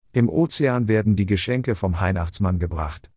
Im Ozean werden die Geschenke vom Weihnachtsmann gebracht.